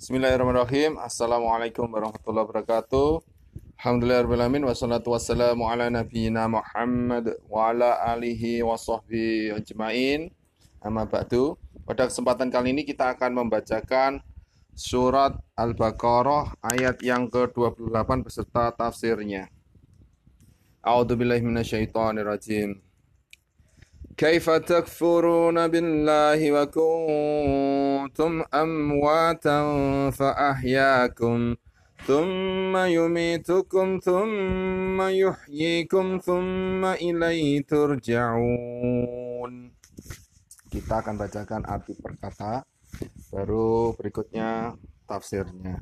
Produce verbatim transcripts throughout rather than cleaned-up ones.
Bismillahirrahmanirrahim. Assalamualaikum warahmatullahi wabarakatuh. Alhamdulillahirrahmanirrahim. Wassalatu wassalamu ala nabiyyina Muhammad wa ala alihi wa sahbihi ajma'in. Amma ba'du. Pada kesempatan kali ini kita akan membacakan surat Al-Baqarah ayat yang ke dua puluh delapan beserta tafsirnya. A'udzubillahi minasyaitonirrajim. Kaifa takfuruna billahi wa kuntum amwatan fa ahyakum thumma yumitukum thumma yuhyikum thumma ilaihi turja'un. Kita akan bacakan arti per kata, baru berikutnya tafsirnya.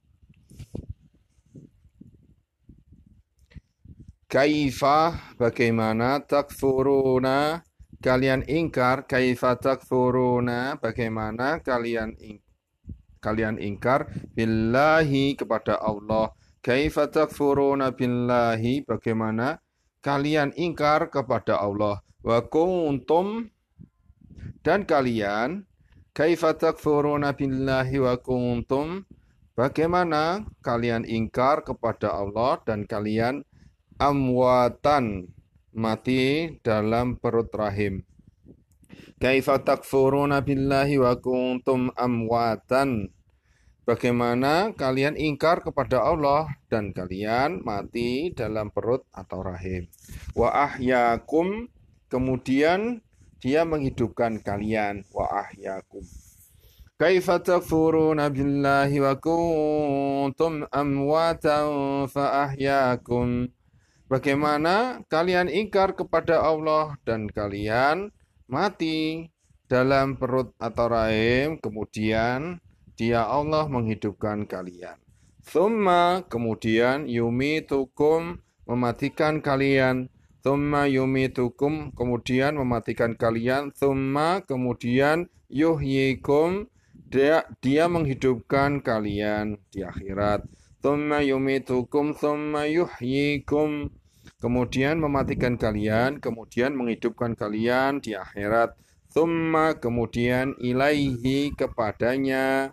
Kaifa, bagaimana, takfuruna, kalian ingkar, kaifa takfuruna, bagaimana kalian ing, kalian ingkar billahi, kepada Allah. Kaifa takfuruna billahi, bagaimana kalian ingkar kepada Allah. Wa kuntum, dan kalian, kaifa takfuruna billahi wa kuntum, bagaimana kalian ingkar kepada Allah dan kalian amwatan, mati dalam perut rahim. Kaifa takfuruna billahi wa kuntum amwatan, bagaimana kalian ingkar kepada Allah dan kalian mati dalam perut atau rahim. Wa ahyakum, kemudian dia menghidupkan kalian. Wa ahyakum. Kaifa takfuruna billahi wa kuntum amwatan fa ahyakum, bagaimana kalian ingkar kepada Allah dan kalian mati dalam perut atau rahim, kemudian Dia Allah menghidupkan kalian. Thumma, kemudian yumitukum, mematikan kalian. Thumma yumitukum, kemudian mematikan kalian. Thumma, kemudian yuhyikum, dia, dia menghidupkan kalian di akhirat. Thumma yumitukum thumma yuhyikum, kemudian mematikan kalian, kemudian menghidupkan kalian di akhirat. Thumma, kemudian ilaihi, kepadanya,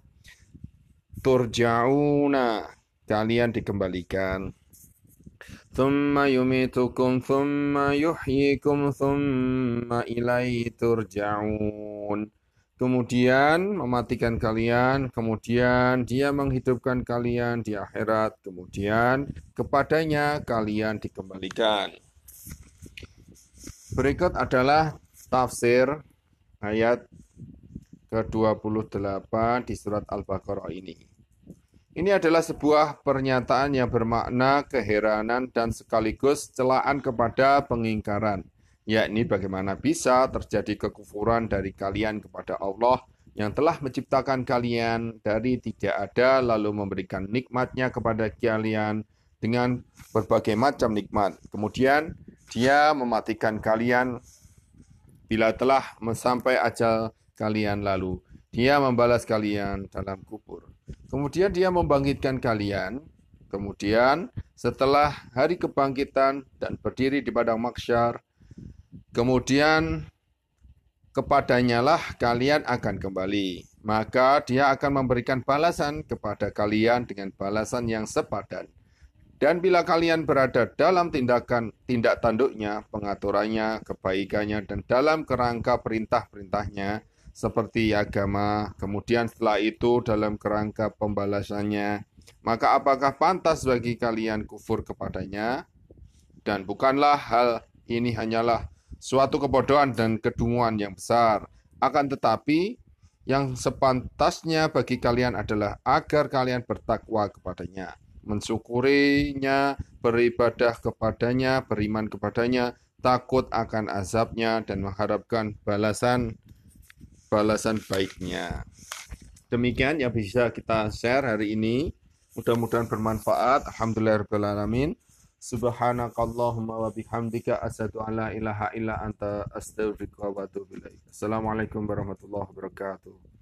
turja'una, kalian dikembalikan. Thumma yumitukum thumma yuhyikum thumma ilaihi turja'un, kemudian mematikan kalian, kemudian Dia menghidupkan kalian di akhirat, kemudian kepadanya kalian dikembalikan. Berikut adalah tafsir ayat ke dua puluh delapan di surat Al-Baqarah ini. Ini adalah sebuah pernyataan yang bermakna keheranan dan sekaligus celaan kepada pengingkaran, yakni bagaimana bisa terjadi kekufuran dari kalian kepada Allah yang telah menciptakan kalian dari tidak ada lalu memberikan nikmatnya kepada kalian dengan berbagai macam nikmat. Kemudian Dia mematikan kalian bila telah sampai ajal kalian, lalu Dia membalas kalian dalam kubur. Kemudian Dia membangkitkan kalian. Kemudian setelah hari kebangkitan dan berdiri di padang mahsyar, kemudian kepadanya lah kalian akan kembali. Maka Dia akan memberikan balasan kepada kalian dengan balasan yang sepadan. Dan bila kalian berada dalam tindakan tindak tanduknya, pengaturannya, kebaikannya, dan dalam kerangka perintah-perintahnya, seperti agama, kemudian setelah itu dalam kerangka pembalasannya, maka apakah pantas bagi kalian kufur kepadanya? Dan bukanlah hal ini hanyalah suatu kebodohan dan kedunguan yang besar. Akan tetapi, yang sepantasnya bagi kalian adalah agar kalian bertakwa kepadanya, mensyukurinya, beribadah kepadanya, beriman kepadanya, takut akan azabnya, dan mengharapkan balasan balasan baiknya. Demikian yang bisa kita share hari ini. Mudah-mudahan bermanfaat. Alhamdulillahirabbil alamin. Subhanakallahumma wa bihamdika asyhadu an la ilaha illa anta astaghfiruka wa atubu ilaik. Assalamualaikum warahmatullahi wabarakatuh.